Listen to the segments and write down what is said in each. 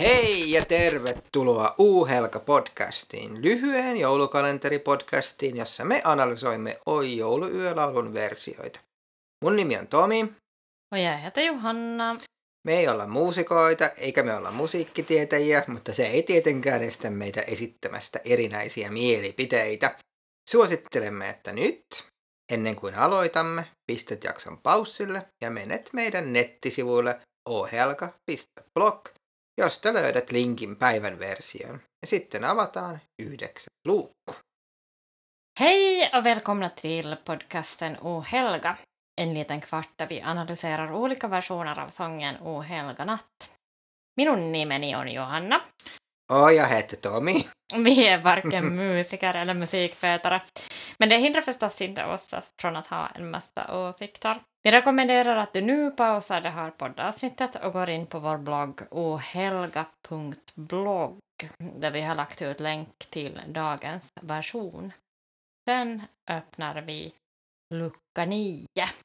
Hei ja tervetuloa U-Helga-podcastiin, lyhyen joulukalenteripodcastiin, jossa me analysoimme Oi jouluyölaulun versioita. Mun nimi on Tomi. Ja heitä Johanna. Me ei olla muusikoita, eikä me olla musiikkitietäjiä, mutta se ei tietenkään estä meitä esittämästä erinäisiä mielipiteitä. Suosittelemme, että nyt, ennen kuin aloitamme, pistät jakson paussille ja menet meidän nettisivuille ohelga.blog, josta löydät linkin päivän versioon. Ja sitten avataan 9 luukku. Hej och välkomna till podcasten O Helga. En liten kvart där vi analyserar olika versioner av sången O Helga natt. Minun nimeni on Johanna. Och jag heter Tomi. Vi är varken musiker eller musikvetare. Men det hindrar förstås inte oss från att ha en massa åsikter. Vi rekommenderar att du nu pausar det här poddavsnittet och går in på vår blogg ohelga.blog där vi har lagt ut länk till dagens version. Sen öppnar vi lucka 9.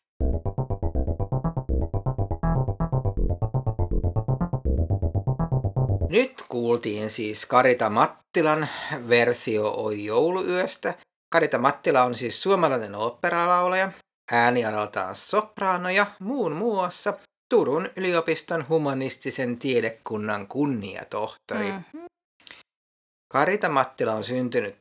Nyt kuultiin siis Karita Mattilan versio Oi jouluyöstä. Karita Mattila on siis suomalainen oopperalaulaja, äänialaltaan sopraano ja muun muassa Turun yliopiston humanistisen tiedekunnan kunniatohtori. Karita Mattila on syntynyt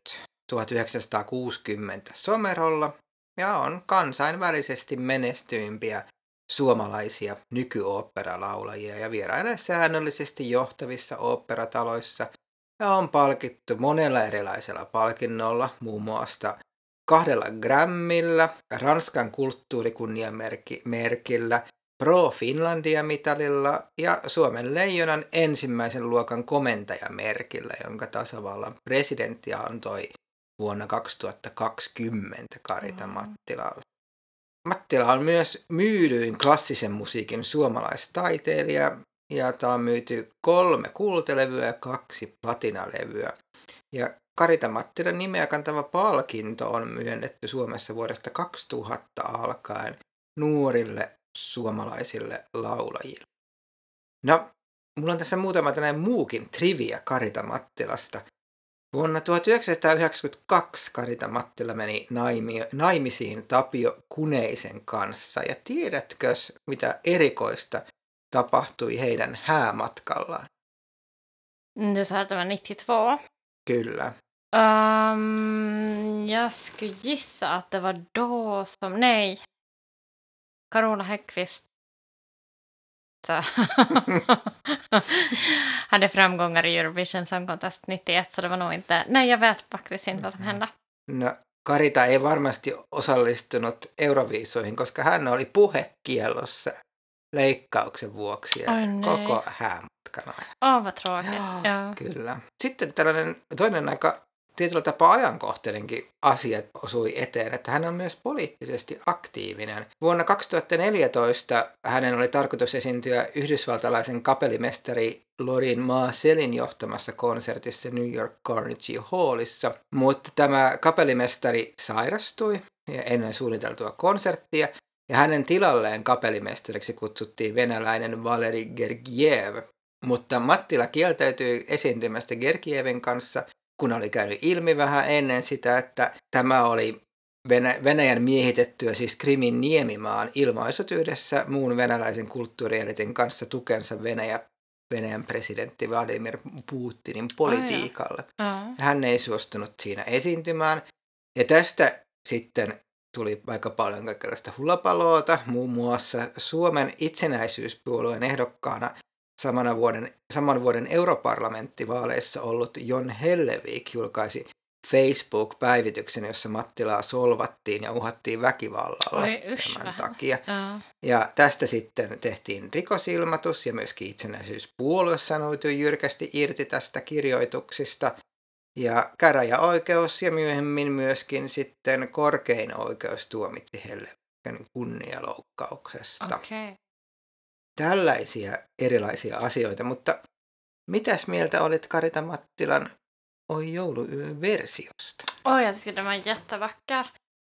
1960 Somerolla ja on kansainvälisesti menestyimpiä suomalaisia nykyoopperalaulajia ja vierailee säännöllisesti johtavissa oopperataloissa ja on palkittu monella erilaisella palkinnolla, muun muassa 2 Grammilla, Ranskan kulttuurikunniamerkillä, Pro Finlandia-mitalilla ja Suomen leijonan ensimmäisen luokan komentajamerkillä, jonka tasavallan presidentti antoi vuonna 2020 Karita Mattilalle. Mattila on myös myydyin klassisen musiikin suomalaistaiteilija ja tämä on myyty 3 kultalevyä ja 2 platinalevyä. Ja Karita Mattilan nimeä kantava palkinto on myönnetty Suomessa vuodesta 2000 alkaen nuorille suomalaisille laulajille. No, mulla on tässä muutama tällainen muukin trivia Karita Mattilasta. Vuonna 1992 Karita Mattila meni naimisiin Tapio Kuneisen kanssa. Ja tiedätkö, mitä erikoista tapahtui heidän häämatkallaan? Du sa att det var 92. Kyllä. Jag skulle gissa att det var då som... Nej. Carola Häggkvist hade framgångar i Eurovision Song Contest 91, så det var nog inte... Nej, jag vet faktiskt inte vad som hände. No, Karita ei varmasti osallistunut Euroviisoihin, koska hän oli puhekiellossa leikkauksen vuoksi ja koko häämatkan ajan. Vad tråkigt. Ja. Kyllä. Sitten tällainen toinen aika tietyllä tapaa ajankohtainenkin asia osui eteen, että hän on myös poliittisesti aktiivinen. Vuonna 2014 hänen oli tarkoitus esiintyä yhdysvaltalaisen kapellimestari Lorin Maasellin johtamassa konsertissa New York Carnegie Hallissa, mutta tämä kapellimestari sairastui ennen suunniteltua konserttia, ja hänen tilalleen kapellimestariksi kutsuttiin venäläinen Valeri Gergiev. Mutta Mattila kieltäytyi esiintymästä Gergievin kanssa, kun oli käynyt ilmi vähän ennen sitä, että tämä oli Venäjän miehitettyä, siis Krimin niemimaan, ilmaisut yhdessä muun venäläisen kulttuurielitin kanssa tukensa Venäjän presidentti Vladimir Putinin politiikalle. Hän ei suostunut siinä esiintymään. Ja tästä sitten tuli aika paljon kaikenlaista hullapaloota, muun muassa Suomen itsenäisyyspuolueen ehdokkaana saman vuoden europarlamenttivaaleissa ollut Jon Hellevik julkaisi Facebook-päivityksen, jossa Mattilaa solvattiin ja uhattiin väkivallalla tämän takia. Ja tästä sitten tehtiin rikosilmoitus ja myöskin itsenäisyyspuolue sanoutui jyrkästi irti tästä kirjoituksista. Ja käräjäoikeus ja myöhemmin myöskin sitten korkein oikeus tuomitsi Hellevikin kunnialoukkauksesta. Okay. Tällaisia erilaisia asioita, mutta mitäs mieltä olit Karita Mattilan Oi jouluyön versiosta? Jag tycker den var jättevacker.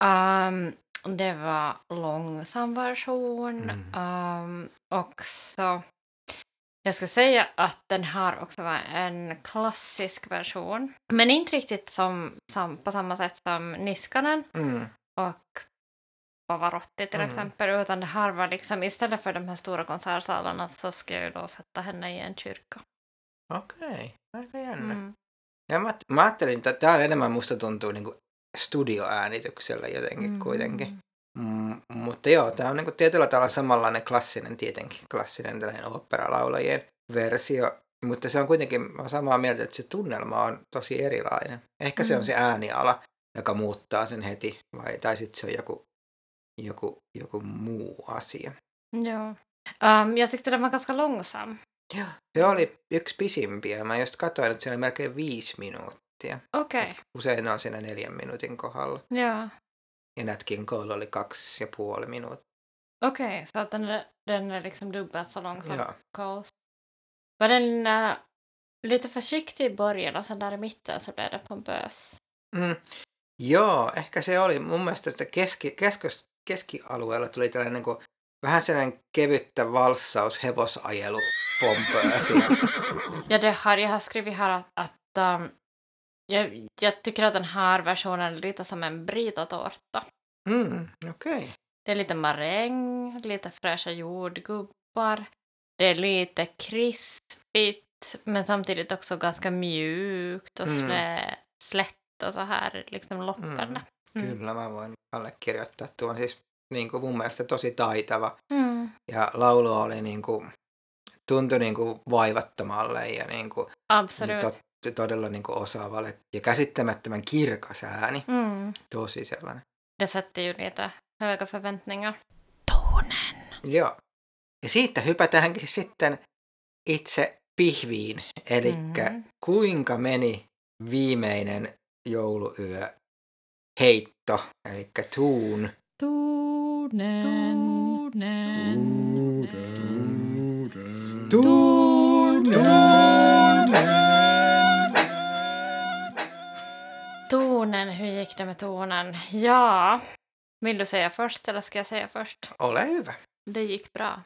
Det var långsam version. Också Jag ska säga att den har också en klassisk version. Men inte riktigt på samma sätt som Niskanen och Pavarotti till exempel. Utan det här var liksom, istället för de här stora konsertsalarna så ska jag då sätta henne i en kyrka. Okei, aika jännä. Ja mä ajattelin, että tämä enemmän musta tuntuu niin kuin studioäänityksellä jotenkin kuitenkin. Mutta joo, tämä on niin kuin tietyllä tavalla samanlainen klassinen tällainen oopperalaulajien versio. Mutta se on kuitenkin, mä olen samaa mieltä, että se tunnelma on tosi erilainen. Ehkä se on se ääniala, joka muuttaa sen heti, tai sitten se on joku muu asia. Joo. Jag tyckte den var ganska långsam. Joo. Se oli yksi pisimpiä. Mä just katsoin, että se oli melkein 5 minuuttia. Okej. Usein ne on siinä 4 minuutin kohdalla. Ja. Ja Nat King Cole oli 2,5 minuuttia. Okej, så att den är liksom dubbelt så lång som Ja. Coles. Var den lite försiktig i början och sen där i mitten så blev det pompös? Joo, ehkä se oli. Mun mielestä että keskialueella tuli tällainen niin kuin, vähän sellainen kevyttä valssaus, hevosajelu, pompöösi. Ja jag har skrivit här att jag tycker att den här versionen är lite som en britåtårta. Okej. Det är lite maräng, lite fräscha jordgubbar. Det är lite krispigt men samtidigt också ganska mjukt och slätt och så här liksom lockande. Kyllä, mä voin allekirjoittaa. Tuo on siis niin kuin mun mielestä tosi taitava. Ja laulu oli niin kuin, tuntui niin kuin vaivattomalle ja niin kuin, todella niin kuin osaavalle ja käsittämättömän kirkas ääni. Tosi sellainen. Det sätter ju lite höga förväntningar. Tonen. Joo. Ja siitä hypätäänkin sitten itse pihviin. Eli kuinka meni viimeinen jouluyö heitto, eli tunen. Tonen, hur gick det med tonen? Ja, vill du säga först eller ska jag säga först? Ole hyvä. Det gick bra.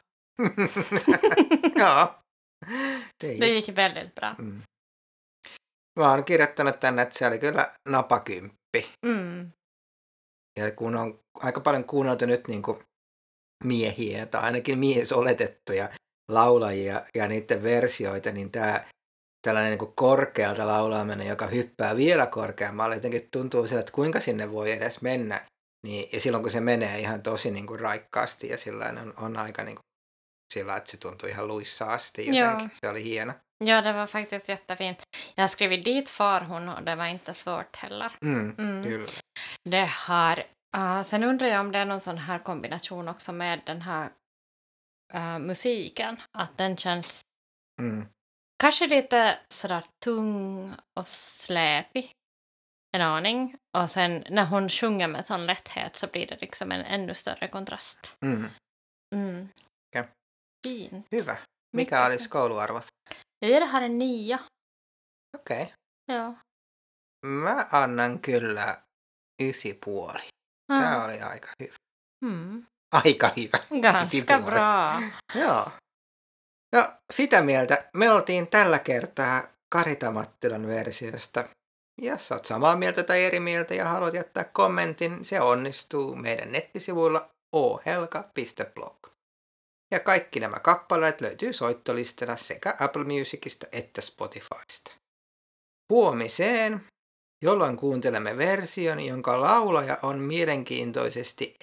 Joo. Det gick väldigt bra. Mä oon kirjoittanut tänne, että se oli kyllä napakymppi. Ja kun on aika paljon kuunneltu nyt niin kuin miehiä tai ainakin miesoletettuja laulajia ja niiden versioita, niin tällainen niin kuin korkealta laulaaminen, joka hyppää vielä korkeammalle, jotenkin tuntuu sillä, että kuinka sinne voi edes mennä. Niin, ja silloin kun se menee ihan tosi niin kuin raikkaasti ja sillain on aika niin kuin sillä, että se tuntuu ihan luissa asti jotenkin. Se oli hieno. Ja, det var faktiskt jättefint. Jag har skrivit dit far hon och det var inte svårt heller. Kyllä. Det har, sen undrar jag om det är någon sån här kombination också med den här musiken. Att den känns kanske lite sådär tung och släpig. En aning. Och sen när hon sjunger med sån lätthet så blir det liksom en ännu större kontrast. Okay. Fint. Hyvä. Mikä olisi kouluarvos? Jag ger det här en 9. Okei. Okay. Joo. Mä annan kyllä 9,5. Tämä oli aika hyvä. Aika hyvä. Ganska bra. Joo. No sitä mieltä me oltiin tällä kertaa Karita Mattilan versiosta. Jos olet samaa mieltä tai eri mieltä ja haluat jättää kommentin, se onnistuu meidän nettisivuilla ohelka.blog. Ja kaikki nämä kappaleet löytyy soittolistana sekä Apple Musicista että Spotifysta. Huomiseen, jolloin kuuntelemme version, jonka laulaja on mielenkiintoisesti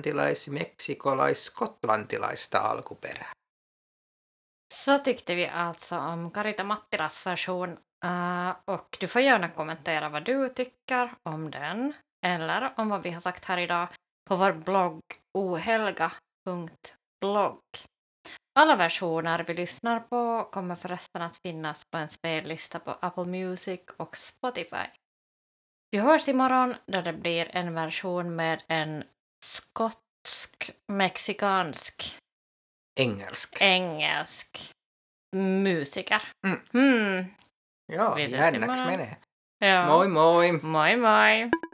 englantilais-meksikolais-skotlantilaista alkuperää. Så tyckte vi alltså om Karita Mattilas version och du får gärna kommentera vad du tycker om den eller om vad vi har sagt här idag på vår blogg ohelga.blog. Alla versioner vi lyssnar på kommer förresten att finnas på en spellista på Apple Music och Spotify. Vi hörs imorgon då det blir en version med en skotsk-mexikansk engelsk musiker. Joo, jännäks menee. Joo. Moi moi! Moi moi!